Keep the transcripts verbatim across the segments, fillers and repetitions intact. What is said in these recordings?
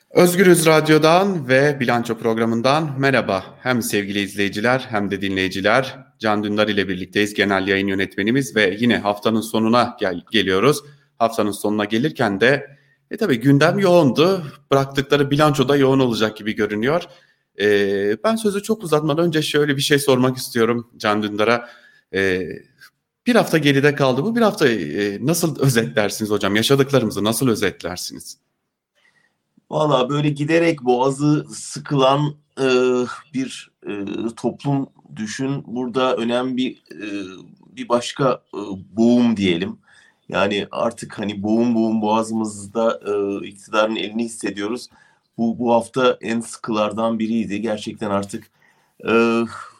Özgürüz Radyo'dan ve Bilanço programından merhaba. Hem sevgili izleyiciler hem de dinleyiciler. Can Dündar ile birlikteyiz. Genel yayın yönetmenimiz ve yine haftanın sonuna gel- geliyoruz. Haftanın sonuna gelirken de e tabii gündem yoğundu. Bıraktıkları bilanço da yoğun olacak gibi görünüyor. E, ben sözü çok uzatmadan önce şöyle bir şey sormak istiyorum Can Dündar'a. E, Bir hafta geride kaldı. Bu bir hafta e, nasıl özetlersiniz hocam? Yaşadıklarımızı nasıl özetlersiniz? Valla böyle giderek boğazı sıkılan e, bir e, toplum düşün. Burada önemli bir e, bir başka e, boğum diyelim. Yani artık hani boğum boğum boğazımızda e, iktidarın elini hissediyoruz. Bu bu hafta en sıkılardan biriydi. Gerçekten artık e,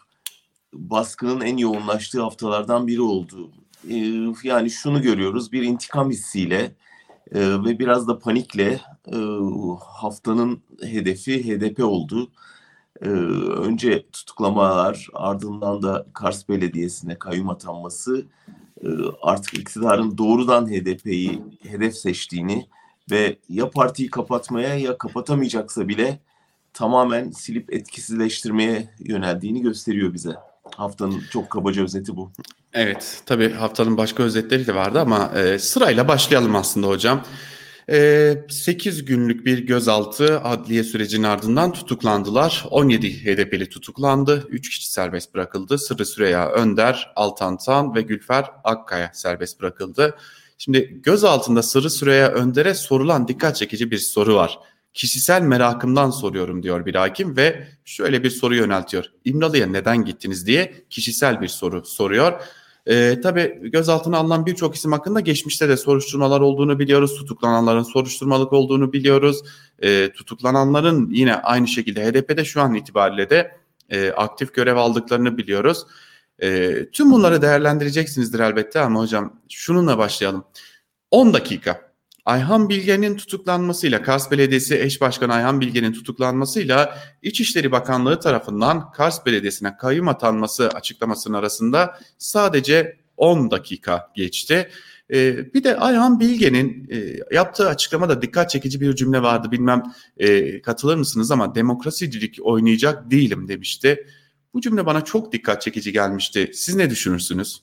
baskının en yoğunlaştığı haftalardan biri oldu. E, yani şunu görüyoruz, bir intikam hissiyle ee, ve biraz da panikle e, haftanın hedefi H D P oldu. Ee, önce tutuklamalar, ardından da Kars Belediyesi'ne kayyum atanması e, artık iktidarın doğrudan H D P'yi hedef seçtiğini ve ya partiyi kapatmaya ya kapatamayacaksa bile tamamen silip etkisizleştirmeye yöneldiğini gösteriyor bize. Haftanın çok kabaca özeti bu. Evet, tabii haftanın başka özetleri de vardı ama e, sırayla başlayalım aslında hocam. E, sekiz günlük bir gözaltı adliye sürecinin ardından tutuklandılar. on yedi H D P'li tutuklandı. üç kişi serbest bırakıldı. Sırrı Süreyya Önder, Altan Tan ve Gülfer Akkaya serbest bırakıldı. Şimdi gözaltında Sırrı Süreyya Önder'e sorulan dikkat çekici bir soru var. Kişisel merakımdan soruyorum diyor bir hakim ve şöyle bir soru yöneltiyor. İmralı'ya neden gittiniz diye kişisel bir soru soruyor. Ee, tabii gözaltına alınan birçok isim hakkında geçmişte de soruşturmalar olduğunu biliyoruz. Tutuklananların soruşturmalık olduğunu biliyoruz. Ee, tutuklananların yine aynı şekilde H D P'de şu an itibariyle de e, aktif görev aldıklarını biliyoruz. E, tüm bunları değerlendireceksinizdir elbette ama hocam şununla başlayalım. on dakika. Ayhan Bilge'nin tutuklanmasıyla, Kars Belediyesi Eş Başkanı Ayhan Bilge'nin tutuklanmasıyla İçişleri Bakanlığı tarafından Kars Belediyesi'ne kayyum atanması açıklamasının arasında sadece on dakika geçti. Ee, bir de Ayhan Bilge'nin e, yaptığı açıklamada dikkat çekici bir cümle vardı. Bilmem e, katılır mısınız ama demokrasicilik oynayacak değilim demişti. Bu cümle bana çok dikkat çekici gelmişti. Siz ne düşünürsünüz?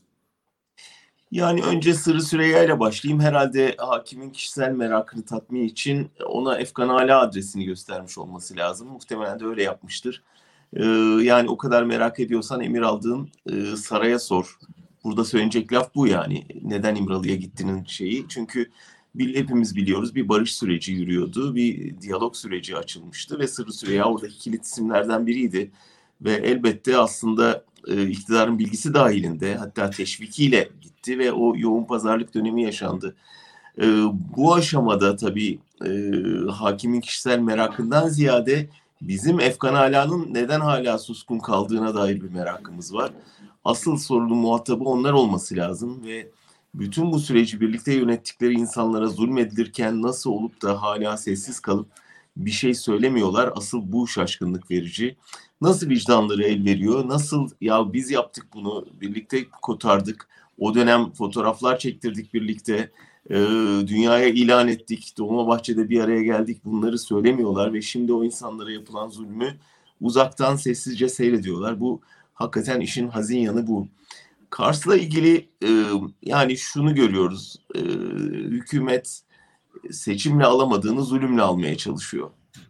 Yani önce Sırrı Süreyya ile başlayayım. Herhalde hakimin kişisel merakını tatmin için ona Efkan Ala adresini göstermiş olması lazım. Muhtemelen de öyle yapmıştır. Ee, yani o kadar merak ediyorsan emir aldığın e, saraya sor. Burada söyleyecek laf bu yani. Neden İmralı'ya gittiğinin şeyi. Çünkü bil, hepimiz biliyoruz bir barış süreci yürüyordu. Bir diyalog süreci açılmıştı ve Sırrı Süreyya oradaki kilit isimlerden biriydi. Ve elbette aslında e, iktidarın bilgisi dahilinde hatta teşvikiyle gitti ve o yoğun pazarlık dönemi yaşandı. E, bu aşamada tabii e, hakimin kişisel merakından ziyade bizim Efkan Ala'nın neden hala suskun kaldığına dair bir merakımız var. Asıl sorunun muhatabı onlar olması lazım ve bütün bu süreci birlikte yönettikleri insanlara zulmedilirken nasıl olup da hala sessiz kalıp bir şey söylemiyorlar. Asıl bu şaşkınlık verici. Nasıl vicdanları el veriyor? Nasıl ya biz yaptık bunu, birlikte kotardık. O dönem fotoğraflar çektirdik birlikte. E, dünyaya ilan ettik. Dolmabahçe'de bir araya geldik. Bunları söylemiyorlar ve şimdi o insanlara yapılan zulmü uzaktan sessizce seyrediyorlar. Bu hakikaten işin hazin yanı bu. Kars'la ilgili e, yani şunu görüyoruz. E, hükümet seçimle alamadığını zulümle almaya çalışıyor.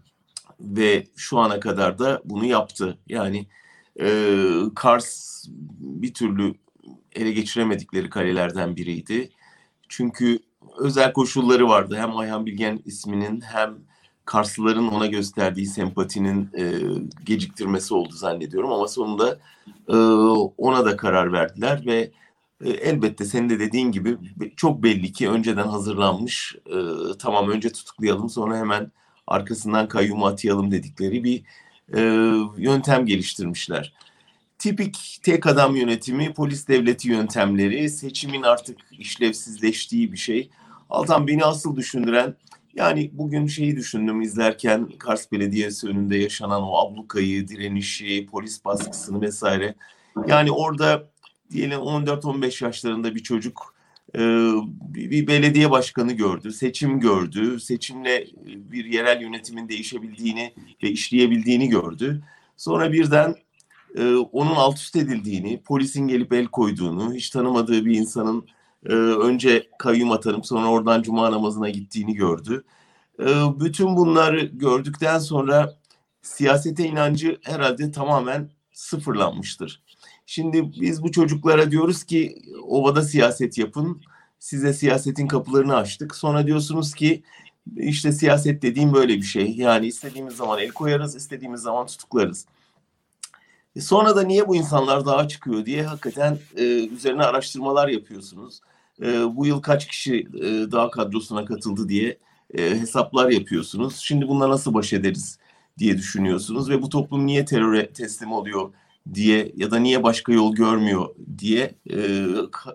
Ve şu ana kadar da bunu yaptı. Yani e, Kars bir türlü ele geçiremedikleri kalelerden biriydi. Çünkü özel koşulları vardı. Hem Ayhan Bilgen isminin hem Karslıların ona gösterdiği sempatinin e, geciktirmesi oldu zannediyorum. Ama sonunda e, ona da karar verdiler ve e, elbette senin de dediğin gibi çok belli ki önceden hazırlanmış, e, tamam önce tutuklayalım sonra hemen arkasından kayyumu atayalım dedikleri bir e, yöntem geliştirmişler. Tipik tek adam yönetimi, polis devleti yöntemleri, seçimin artık işlevsizleştiği bir şey. Altan beni asıl düşündüren, yani bugün şeyi düşündüm izlerken Kars Belediyesi önünde yaşanan o ablukayı, direnişi, polis baskısını vesaire. Yani orada diyelim on dört on beş yaşlarında bir çocuk e, bir, bir belediye başkanı gördü, seçim gördü, seçimle bir yerel yönetimin değişebildiğini ve işleyebildiğini gördü. Sonra birden e, onun alt üst edildiğini, polisin gelip el koyduğunu, hiç tanımadığı bir insanın e, önce kayyum atanıp sonra oradan cuma namazına gittiğini gördü. E, bütün bunları gördükten sonra siyasete inancı herhalde tamamen sıfırlanmıştır. Şimdi biz bu çocuklara diyoruz ki ovada siyaset yapın. Size siyasetin kapılarını açtık. Sonra diyorsunuz ki işte siyaset dediğim böyle bir şey. Yani istediğimiz zaman el koyarız, istediğimiz zaman tutuklarız. E sonra da niye bu insanlar dağa çıkıyor diye hakikaten e, üzerine araştırmalar yapıyorsunuz. E, bu yıl kaç kişi e, dağ kadrosuna katıldı diye e, hesaplar yapıyorsunuz. Şimdi bununla nasıl baş ederiz diye düşünüyorsunuz ve bu toplum niye teröre teslim oluyor diye ya da niye başka yol görmüyor diye e,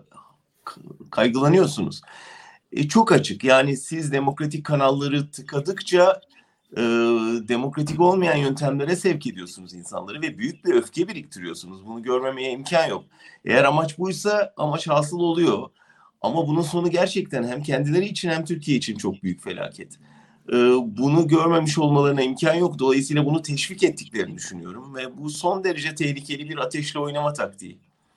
kaygılanıyorsunuz. E, çok açık, yani siz demokratik kanalları tıkadıkça e, demokratik olmayan yöntemlere sevk ediyorsunuz insanları ve büyük bir öfke biriktiriyorsunuz. Bunu görmemeye imkan yok. Eğer amaç buysa amaç hasıl oluyor. Ama bunun sonu gerçekten hem kendileri için hem Türkiye için çok büyük felaket. E, bunu görmemiş olmalarına imkan yok. Dolayısıyla bunu teşvik ettiklerini düşünüyorum ve bu son derece tehlikeli bir ateşle oynama taktiği.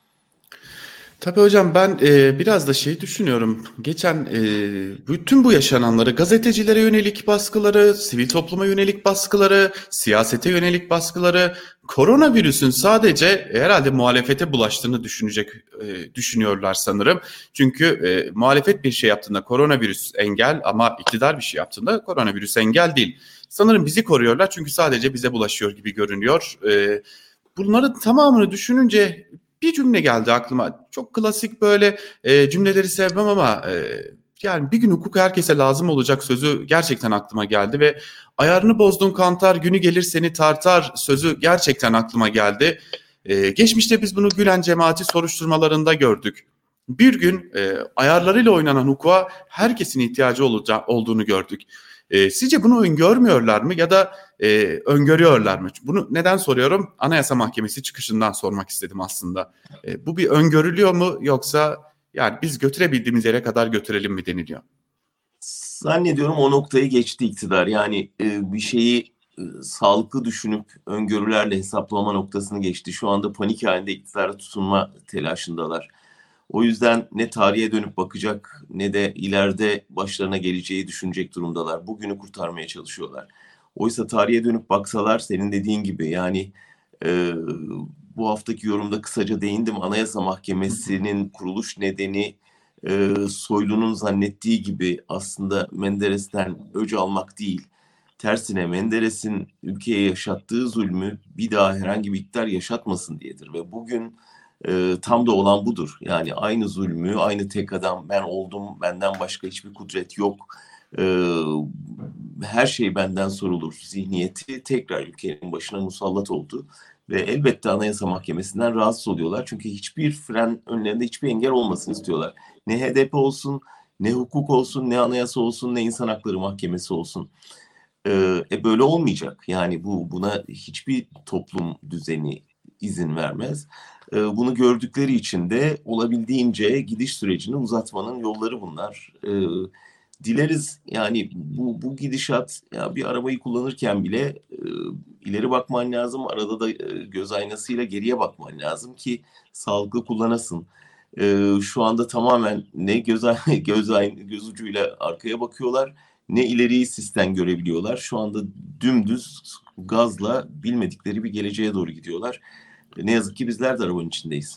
Tabii hocam ben e, biraz da şey düşünüyorum. Geçen e, bütün bu yaşananları gazetecilere yönelik baskıları, sivil topluma yönelik baskıları, siyasete yönelik baskıları, koronavirüsün sadece herhalde muhalefete bulaştığını düşünecek e, düşünüyorlar sanırım. Çünkü e, muhalefet bir şey yaptığında koronavirüs engel ama iktidar bir şey yaptığında koronavirüs engel değil. Sanırım bizi koruyorlar çünkü sadece bize bulaşıyor gibi görünüyor. E, bunların tamamını düşününce bir cümle geldi aklıma. Çok klasik böyle e, cümleleri sevmem ama e, yani bir gün hukuk herkese lazım olacak sözü gerçekten aklıma geldi ve ayarını bozdun kantar günü gelir seni tartar sözü gerçekten aklıma geldi. E, geçmişte biz bunu Gülen cemaati soruşturmalarında gördük. Bir gün e, ayarlarıyla oynanan hukuka herkesin ihtiyacı olacağı, olduğunu gördük. E, sizce bunu öngörmüyorlar mı ya da e, öngörüyorlar mı? Bunu neden soruyorum? Anayasa Mahkemesi çıkışından sormak istedim aslında. E, bu bir öngörülüyor mu yoksa yani biz götürebildiğimiz yere kadar götürelim mi deniliyor? Zannediyorum o noktayı geçti iktidar. Yani e, bir şeyi e, sağlıklı düşünüp öngörülerle hesaplama noktasını geçti. Şu anda panik halinde iktidara tutunma telaşındalar. O yüzden ne tarihe dönüp bakacak ne de ileride başlarına geleceği düşünecek durumdalar. Bugünü kurtarmaya çalışıyorlar. Oysa tarihe dönüp baksalar senin dediğin gibi yani e, bu haftaki yorumda kısaca değindim. Anayasa Mahkemesi'nin kuruluş nedeni e, Soylu'nun zannettiği gibi aslında Menderes'ten öc almak değil. Tersine Menderes'in ülkeye yaşattığı zulmü bir daha herhangi bir iktidar yaşatmasın diyedir. Ve bugün e, tam da olan budur. Yani aynı zulmü, aynı tek adam ben oldum, benden başka hiçbir kudret yok. E, her şey benden sorulur zihniyeti tekrar ülkenin başına musallat oldu. Ve elbette Anayasa Mahkemesi'nden rahatsız oluyorlar. Çünkü hiçbir fren önlerinde hiçbir engel olmasını istiyorlar. Ne H D P olsun, ne hukuk olsun, ne anayasa olsun, ne insan hakları mahkemesi olsun. Ee, e böyle olmayacak. Yani bu buna hiçbir toplum düzeni izin vermez. Ee, bunu gördükleri için de olabildiğince gidiş sürecini uzatmanın yolları bunlar. Ee, dileriz yani bu bu gidişat ya bir arabayı kullanırken bile e, ileri bakman lazım. Arada da e, göz aynasıyla geriye bakman lazım ki sağlıklı kullanasın. Ee, şu anda tamamen ne göz göz göz ucuyla arkaya bakıyorlar ne ileriyi sisten görebiliyorlar. Şu anda dümdüz gazla bilmedikleri bir geleceğe doğru gidiyorlar. Ne yazık ki bizler de arabanın içindeyiz.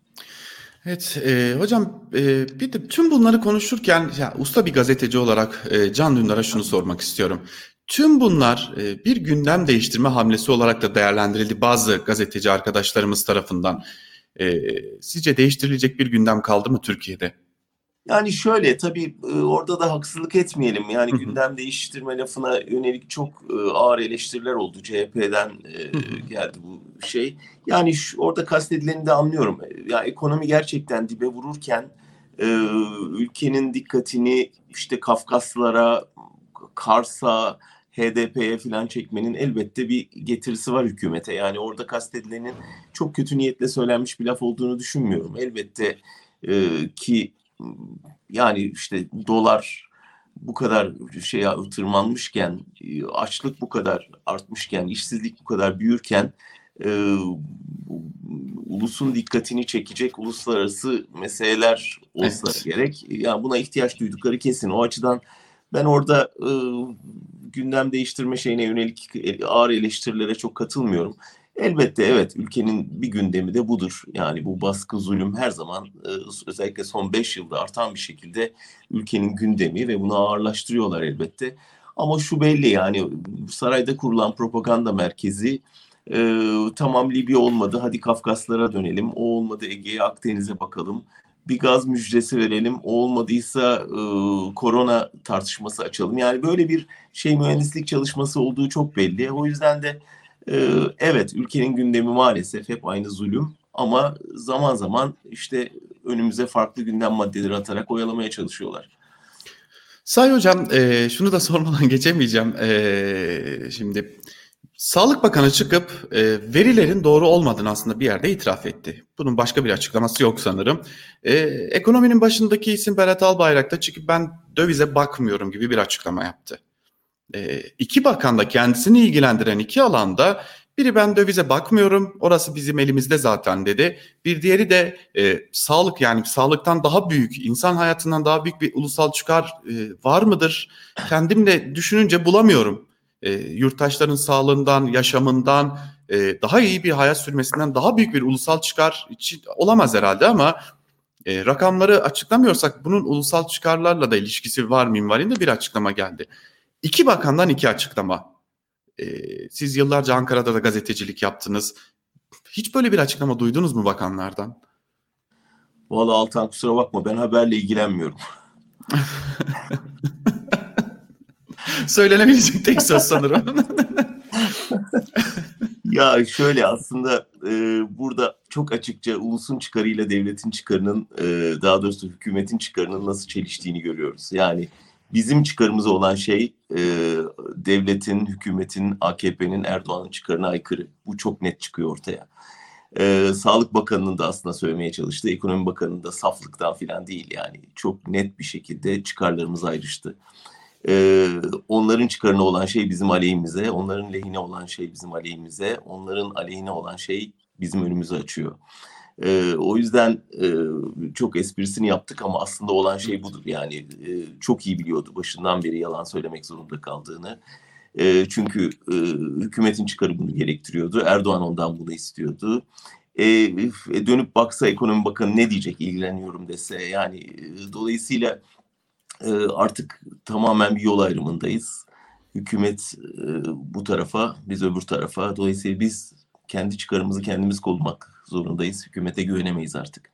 Evet e, hocam e, bir de tüm bunları konuşurken ya, usta bir gazeteci olarak e, Can Dündar'a şunu sormak istiyorum. Tüm bunlar e, bir gündem değiştirme hamlesi olarak da değerlendirildi bazı gazeteci arkadaşlarımız tarafından. E, sizce değiştirilecek bir gündem kaldı mı Türkiye'de? Yani şöyle tabii e, orada da haksızlık etmeyelim. Yani Hı hı, gündem değiştirme lafına yönelik çok e, ağır eleştiriler oldu. C H P'den hı e, hı. geldi bu şey. Yani şu, orada kastedileni de anlıyorum. Ya ekonomi gerçekten dibe vururken e, ülkenin dikkatini işte Kafkaslara, Kars'a, H D P'ye falan çekmenin elbette bir getirisi var hükümete. Yani orada kastedilenin çok kötü niyetle söylenmiş bir laf olduğunu düşünmüyorum. Elbette e, ki yani işte dolar bu kadar şeye tırmanmışken, açlık bu kadar artmışken, işsizlik bu kadar büyürken e, ulusun dikkatini çekecek uluslararası meseleler olsa Evet. gerek. Yani buna ihtiyaç duydukları kesin. O açıdan ben orada e, gündem değiştirme şeyine yönelik ağır eleştirilere çok katılmıyorum. Elbette evet, ülkenin bir gündemi de budur. Yani bu baskı, zulüm her zaman e, özellikle son beş yılda artan bir şekilde ülkenin gündemi ve bunu ağırlaştırıyorlar elbette. Ama şu belli, yani sarayda kurulan propaganda merkezi e, tamam Libya olmadı, hadi Kafkaslara dönelim. O olmadı, Ege'ye, Akdeniz'e bakalım. Bir gaz müjdesi verelim. O olmadıysa e, korona tartışması açalım. Yani böyle bir şey, mühendislik çalışması olduğu çok belli. O yüzden de e, evet, ülkenin gündemi maalesef hep aynı zulüm. Ama zaman zaman işte önümüze farklı gündem maddeleri atarak oyalamaya çalışıyorlar. Say hocam, e, şunu da sormadan geçemeyeceğim. E, şimdi Sağlık Bakanı çıkıp e, verilerin doğru olmadığını aslında bir yerde itiraf etti. Bunun başka bir açıklaması yok sanırım. E, ekonominin başındaki isim Berat Albayrak da çıkıp ben dövize bakmıyorum gibi bir açıklama yaptı. E, iki bakan da kendisini ilgilendiren iki alanda, biri ben dövize bakmıyorum, orası bizim elimizde zaten dedi. Bir diğeri de e, sağlık, yani sağlıktan daha büyük, insan hayatından daha büyük bir ulusal çıkar e, var mıdır? Kendim de düşününce bulamıyorum. E, yurttaşların sağlığından, yaşamından, e, daha iyi bir hayat sürmesinden daha büyük bir ulusal çıkar için olamaz herhalde, ama e, rakamları açıklamıyorsak bunun ulusal çıkarlarla da ilişkisi var minvalinde bir açıklama geldi. İki bakandan iki açıklama. Ee, siz yıllarca Ankara'da da gazetecilik yaptınız. Hiç böyle bir açıklama duydunuz mu bakanlardan? Vallahi Altan, kusura bakma, ben haberle ilgilenmiyorum. Söylenebilecek tek söz sanırım. Ya şöyle, aslında e, burada çok açıkça ulusun çıkarıyla devletin çıkarının, e, daha doğrusu hükümetin çıkarının nasıl çeliştiğini görüyoruz. Yani bizim çıkarımıza olan şey e, devletin, hükümetin, A K P'nin, Erdoğan'ın çıkarına aykırı. Bu çok net çıkıyor ortaya. E, Sağlık Bakanı'nın da aslında söylemeye çalıştığı, Ekonomi Bakanı'nın da saflıktan falan değil, yani çok net bir şekilde çıkarlarımız ayrıştı. Ee, onların çıkarına olan şey bizim aleyhimize, onların lehine olan şey bizim aleyhimize, onların aleyhine olan şey bizim önümüzü açıyor. Ee, o yüzden e, çok esprisini yaptık ama aslında olan şey budur. Yani e, çok iyi biliyordu başından beri yalan söylemek zorunda kaldığını. E, çünkü e, hükümetin çıkarı bunu gerektiriyordu. Erdoğan ondan bunu istiyordu. E, dönüp baksa Ekonomi Bakanı ne diyecek, ilgileniyorum dese, yani e, dolayısıyla artık tamamen bir yol ayrımındayız. Hükümet bu tarafa, biz öbür tarafa. Dolayısıyla biz kendi çıkarımızı kendimiz korumak zorundayız. Hükümete güvenemeyiz artık.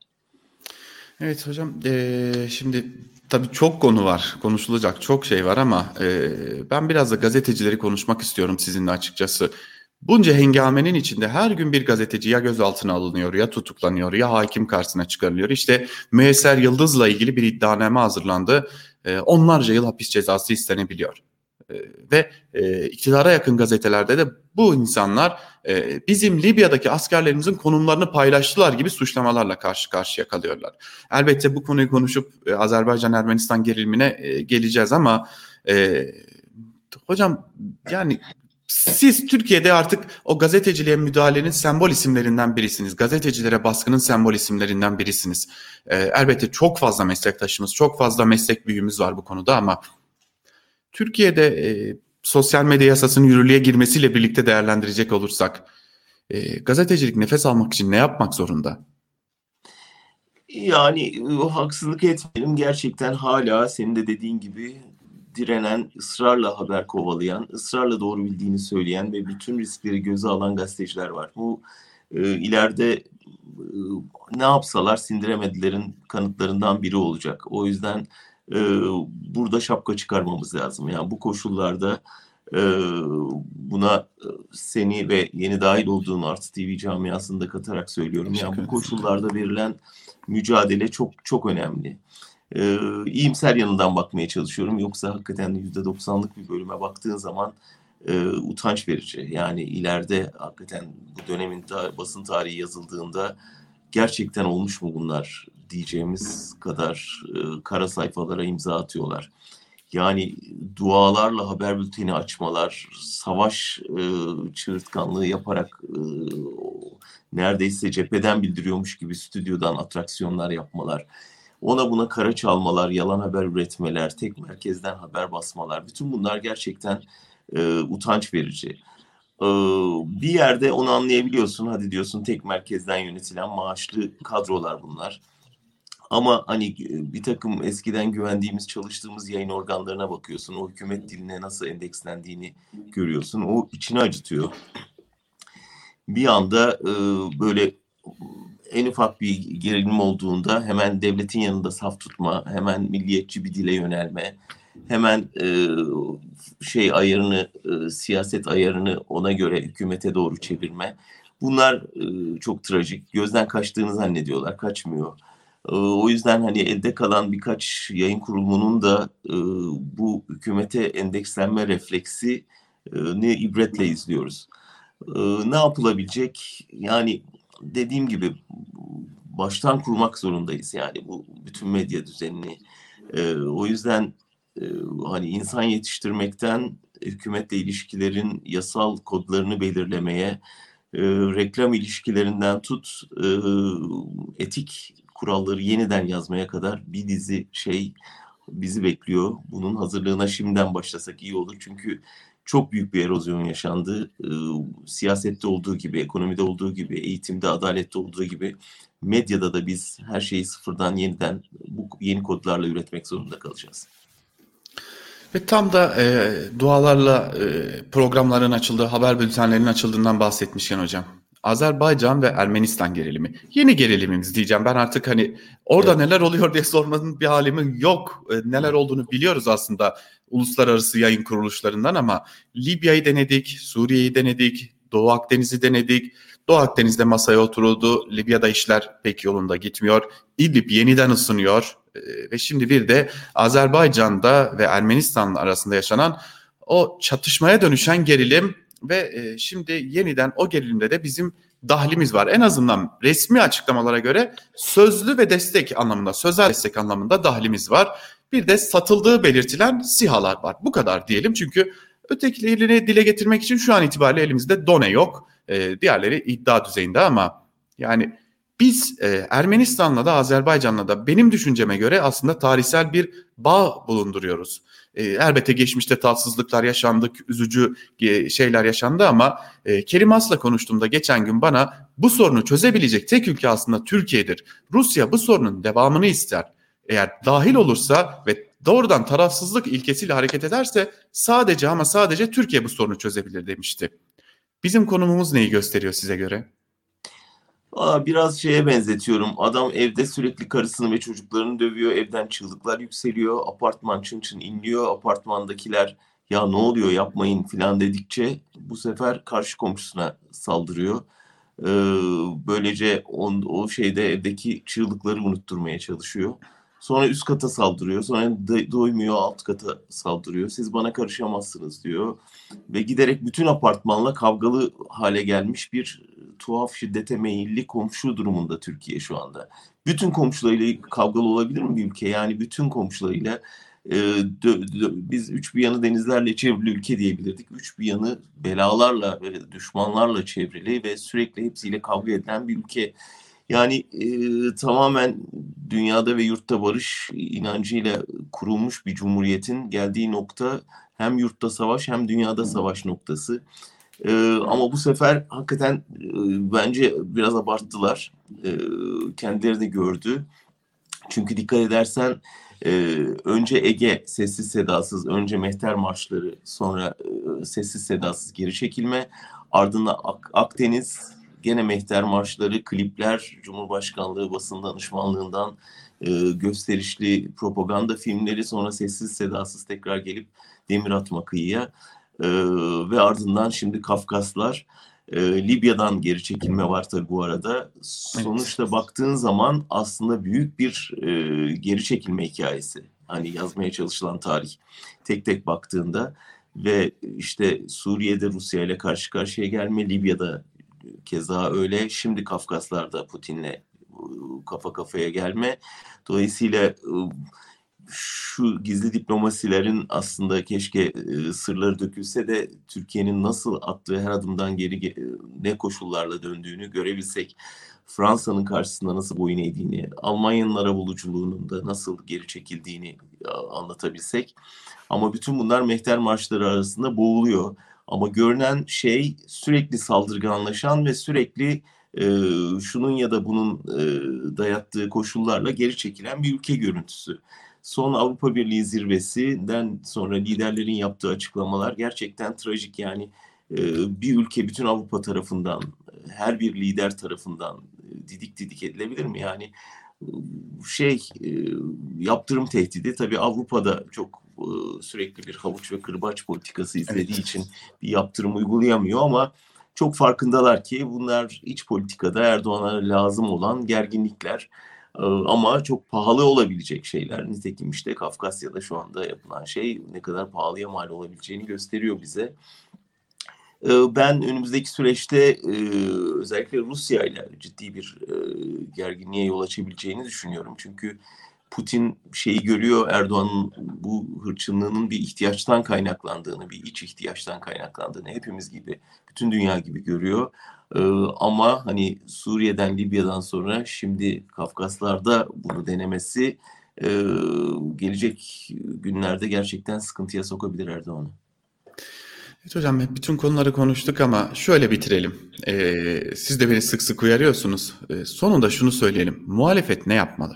Evet hocam, ee, şimdi tabii çok konu var, konuşulacak çok şey var ama ee, ben biraz da gazetecileri konuşmak istiyorum sizinle açıkçası. Bunca hengamenin içinde her gün bir gazeteci ya gözaltına alınıyor, ya tutuklanıyor, ya hakim karşısına çıkarılıyor. İşte Müyesser Yıldız'la ilgili bir iddianame hazırlandı. E, onlarca yıl hapis cezası istenebiliyor. E, ve e, iktidara yakın gazetelerde de bu insanlar e, bizim Libya'daki askerlerimizin konumlarını paylaştılar gibi suçlamalarla karşı karşıya kalıyorlar. Elbette bu konuyu konuşup e, Azerbaycan-Ermenistan gerilimine e, geleceğiz ama e, hocam, yani siz Türkiye'de artık o gazeteciliğe müdahalenin sembol isimlerinden birisiniz. Gazetecilere baskının sembol isimlerinden birisiniz. Ee, elbette çok fazla meslektaşımız, çok fazla meslek büyüğümüz var bu konuda ama Türkiye'de e, sosyal medya yasasının yürürlüğe girmesiyle birlikte değerlendirecek olursak e, gazetecilik nefes almak için ne yapmak zorunda? Yani haksızlık etmeyelim. Gerçekten hala senin de dediğin gibi direnen, ısrarla haber kovalayan, ısrarla doğru bildiğini söyleyen ve bütün riskleri göze alan gazeteciler var. Bu e, ileride e, ne yapsalar sindiremedilerin kanıtlarından biri olacak. O yüzden e, burada şapka çıkarmamız lazım. Yani bu koşullarda e, buna seni ve yeni dahil olduğun Artı T V camiasını da katarak söylüyorum. Yani bu koşullarda verilen mücadele çok çok önemli. Ee, iyimser yanından bakmaya çalışıyorum. Yoksa hakikaten yüzde doksanlık bir bölüme baktığın zaman e, utanç verici. Yani ileride hakikaten bu dönemin ta, basın tarihi yazıldığında gerçekten olmuş mu bunlar diyeceğimiz kadar e, kara sayfalara imza atıyorlar. Yani dualarla haber bülteni açmalar, savaş e, çığırtkanlığı yaparak e, neredeyse cepheden bildiriyormuş gibi stüdyodan atraksiyonlar yapmalar, ona buna kara çalmalar, yalan haber üretmeler, tek merkezden haber basmalar, bütün bunlar gerçekten e, utanç verici. E, bir yerde onu anlayabiliyorsun, hadi diyorsun tek merkezden yönetilen maaşlı kadrolar bunlar. Ama hani bir takım eskiden güvendiğimiz, çalıştığımız yayın organlarına bakıyorsun. O hükümet diline nasıl endekslendiğini görüyorsun. O içini acıtıyor. Bir anda e, böyle en ufak bir gerilim olduğunda hemen devletin yanında saf tutma, hemen milliyetçi bir dile yönelme, hemen e, şey ayarını, e, siyaset ayarını ona göre hükümete doğru çevirme. Bunlar e, çok trajik. Gözden kaçtığını zannediyorlar, kaçmıyor. O yüzden hani elde kalan birkaç yayın kurumunun da e, bu hükümete endekslenme refleksi e, ne ibretle izliyoruz. E, ne yapılabilecek? Yani dediğim gibi baştan kurmak zorundayız yani bu bütün medya düzenini. E, o yüzden e, hani insan yetiştirmekten hükümetle ilişkilerin yasal kodlarını belirlemeye, e, reklam ilişkilerinden tut, e, etik kuralları yeniden yazmaya kadar bir dizi şey bizi bekliyor. Bunun hazırlığına şimdiden başlasak iyi olur. Çünkü çok büyük bir erozyon yaşandı. E, siyasette olduğu gibi, ekonomide olduğu gibi, eğitimde, adalette olduğu gibi medyada da biz her şeyi sıfırdan yeniden bu yeni kodlarla üretmek zorunda kalacağız. Ve tam da e, dualarla e, programların açıldığı, haber bültenlerinin açıldığından bahsetmişken hocam. Azerbaycan ve Ermenistan gerilimi. Yeni gerilimimiz diyeceğim. Ben artık hani orada evet. neler oluyor diye sormanın bir halimi yok. E, neler olduğunu biliyoruz aslında uluslararası yayın kuruluşlarından ama Libya'yı denedik, Suriye'yi denedik, Doğu Akdeniz'i denedik. Doğu Akdeniz'de masaya oturuldu. Libya'da işler pek yolunda gitmiyor. İdlib yeniden ısınıyor. Ve şimdi bir de Azerbaycan'da ve Ermenistan arasında yaşanan o çatışmaya dönüşen gerilim ve şimdi yeniden o gerilimde de bizim dahlimiz var. En azından resmi açıklamalara göre sözlü ve destek anlamında, sözel destek anlamında dahlimiz var. Bir de satıldığı belirtilen SİHA'lar var. Bu kadar diyelim çünkü ötekilerini dile getirmek için şu an itibariyle elimizde done yok. Diğerleri iddia düzeyinde ama yani biz e, Ermenistan'la da Azerbaycan'la da benim düşünceme göre aslında tarihsel bir bağ bulunduruyoruz. E, elbette geçmişte tatsızlıklar yaşandı, üzücü e, şeyler yaşandı ama e, Kerim As'la konuştuğumda geçen gün bana bu sorunu çözebilecek tek ülke aslında Türkiye'dir. Rusya bu sorunun devamını ister. Eğer dahil olursa ve doğrudan tarafsızlık ilkesiyle hareket ederse sadece ama sadece Türkiye bu sorunu çözebilir demişti. Bizim konumumuz neyi gösteriyor size göre? Aa, biraz şeye benzetiyorum. Adam evde sürekli karısını ve çocuklarını dövüyor. Evden çığlıklar yükseliyor. Apartman çın çın inliyor. Apartmandakiler ya ne oluyor yapmayın filan dedikçe bu sefer karşı komşusuna saldırıyor. Ee, böylece on, o şeyde evdeki çığlıkları unutturmaya çalışıyor. Sonra üst kata saldırıyor. Sonra do- doymuyor alt kata saldırıyor. Siz bana karışamazsınız diyor. Ve giderek bütün apartmanla kavgalı hale gelmiş bir tuhaf şiddete meyilli komşu durumunda Türkiye şu anda. Bütün komşularıyla kavgalı olabilir mi bir ülke? Yani bütün komşularıyla e, dö, dö, biz üç bir yanı denizlerle çevrili ülke diyebilirdik. Üç bir yanı belalarla ve düşmanlarla çevrili ve sürekli hepsiyle kavga edilen bir ülke. Yani e, tamamen dünyada ve yurtta barış inancıyla kurulmuş bir cumhuriyetin geldiği nokta hem yurtta savaş hem dünyada savaş noktası. Ee, ama bu sefer hakikaten e, bence biraz abarttılar. E, kendileri de gördü. Çünkü dikkat edersen e, önce Ege sessiz sedasız, önce Mehter marşları, sonra e, sessiz sedasız geri çekilme. Ardından Ak- Akdeniz, gene Mehter marşları, klipler, Cumhurbaşkanlığı basın danışmanlığından e, gösterişli propaganda filmleri, sonra sessiz sedasız tekrar gelip demir atma kıyıya. Ee, ve ardından şimdi Kafkaslar, e, Libya'dan geri çekilme var tabii bu arada. Sonuçta evet. Baktığın zaman aslında büyük bir e, geri çekilme hikayesi. Hani yazmaya çalışılan tarih tek tek baktığında ve işte Suriye'de Rusya ile karşı karşıya gelme, Libya'da keza öyle. Şimdi Kafkaslar'da Putin'le kafa kafaya gelme. Dolayısıyla şu gizli diplomasilerin aslında keşke sırları dökülse de Türkiye'nin nasıl attığı her adımdan geri ne koşullarla döndüğünü görebilsek, Fransa'nın karşısında nasıl boyun eğdiğini, Almanya'nın arabuluculuğunun da nasıl geri çekildiğini anlatabilsek. Ama bütün bunlar mehter marşları arasında boğuluyor. Ama görünen şey sürekli saldırganlaşan ve sürekli e, şunun ya da bunun e, dayattığı koşullarla geri çekilen bir ülke görüntüsü. Son Avrupa Birliği zirvesinden sonra liderlerin yaptığı açıklamalar gerçekten trajik. Yani e, bir ülke bütün Avrupa tarafından, her bir lider tarafından didik didik edilebilir mi? Yani şey e, yaptırım tehdidi tabii Avrupa'da çok e, sürekli bir havuç ve kırbaç politikası izlediği evet. için bir yaptırım uygulayamıyor ama çok farkındalar ki bunlar iç politikada Erdoğan'a lazım olan gerginlikler e, ama çok pahalı olabilecek şeyler. Nitekim işte Kafkasya'da şu anda yapılan şey ne kadar pahalıya mal olabileceğini gösteriyor bize. Ben önümüzdeki süreçte özellikle Rusya ile ciddi bir gerginliğe yol açabileceğini düşünüyorum. Çünkü Putin şeyi görüyor, Erdoğan'ın bu hırçınlığının bir ihtiyaçtan kaynaklandığını, bir iç ihtiyaçtan kaynaklandığını hepimiz gibi, bütün dünya gibi görüyor. Ama hani Suriye'den, Libya'dan sonra şimdi Kafkaslar'da bunu denemesi gelecek günlerde gerçekten sıkıntıya sokabilir Erdoğan'ı. Evet hocam, bütün konuları konuştuk ama şöyle bitirelim. Ee, siz de beni sık sık uyarıyorsunuz. Ee, sonunda şunu söyleyelim. Muhalefet ne yapmalı?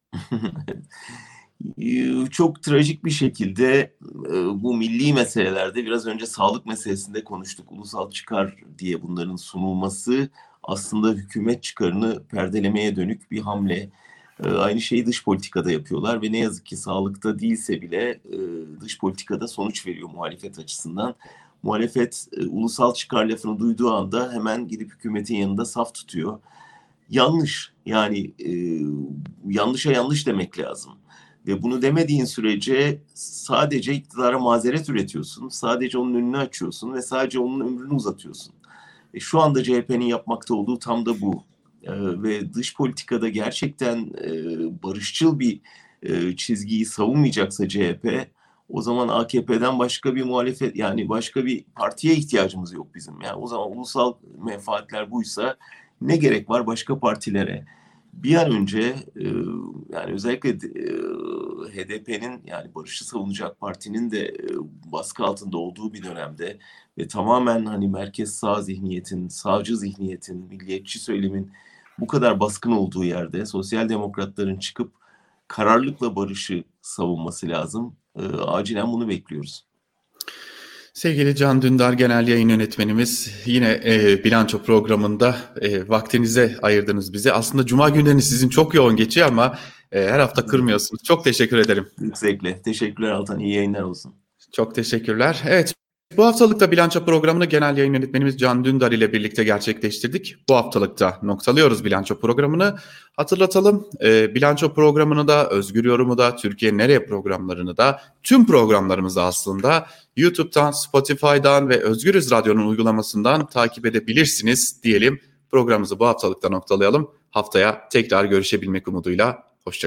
Çok trajik bir şekilde bu milli meselelerde biraz önce sağlık meselesinde konuştuk. Ulusal çıkar diye bunların sunulması aslında hükümet çıkarını perdelemeye dönük bir hamle. Aynı şeyi dış politikada yapıyorlar ve ne yazık ki sağlıkta değilse bile dış politikada sonuç veriyor muhalefet açısından. Muhalefet e, ulusal çıkar lafını duyduğu anda hemen gidip hükümetin yanında saf tutuyor. Yanlış, yani e, yanlışa yanlış demek lazım. Ve bunu demediğin sürece sadece iktidara mazeret üretiyorsun. Sadece onun önünü açıyorsun ve sadece onun ömrünü uzatıyorsun. E, şu anda C H P'nin yapmakta olduğu tam da bu. E, ve dış politikada gerçekten e, barışçıl bir e, çizgiyi savunmayacaksa C H P, o zaman A K P'den başka bir muhalefet, yani başka bir partiye ihtiyacımız yok bizim. Yani o zaman ulusal menfaatler buysa ne gerek var başka partilere? Bir an önce e, yani özellikle e, H D P'nin, yani barışı savunacak partinin de e, baskı altında olduğu bir dönemde ve tamamen hani merkez sağ zihniyetin, sağcı zihniyetin, milliyetçi söylemin bu kadar baskın olduğu yerde sosyal demokratların çıkıp kararlılıkla barışı savunması lazım. E, acilen bunu bekliyoruz. Sevgili Can Dündar Genel Yayın Yönetmenimiz, yine e, bilanço programında e, vaktinize ayırdınız bize. Aslında Cuma günleri sizin çok yoğun geçiyor ama e, her hafta kırmıyorsunuz. Çok teşekkür ederim. Büyük zevkle. Teşekkürler Altan. İyi yayınlar olsun. Çok teşekkürler. Evet, bu haftalıkta bilanço programını Genel Yayın Yönetmenimiz Can Dündar ile birlikte gerçekleştirdik. Bu haftalıkta noktalıyoruz bilanço programını. Hatırlatalım, e, bilanço programını da, Özgür Yorum'u da, Türkiye Nereye programlarını da, tüm programlarımızı aslında YouTube'dan, Spotify'dan ve Özgürüz Radyo'nun uygulamasından takip edebilirsiniz diyelim. Programımızı bu haftalıkta noktalayalım. Haftaya tekrar görüşebilmek umuduyla.